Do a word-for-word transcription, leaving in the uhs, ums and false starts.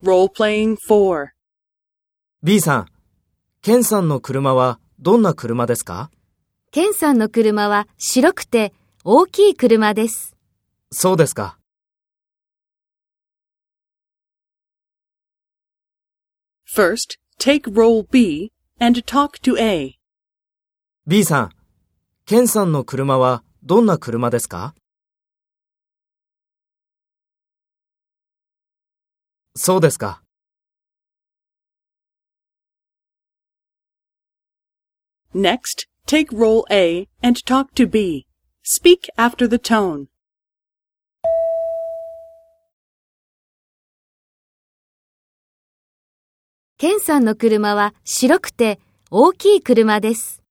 Role-playing four. B さん、ケンさんの車はどんな車ですか？ ケンさんの車は白くて大きい車です。 そうですか。 First, take role B and talk to A. B さん、ケンさんの車はどんな車ですか？そうですか。 Next, take role A and talk to B. Speak after the tone. ケンさんの車は白くて大きい車です。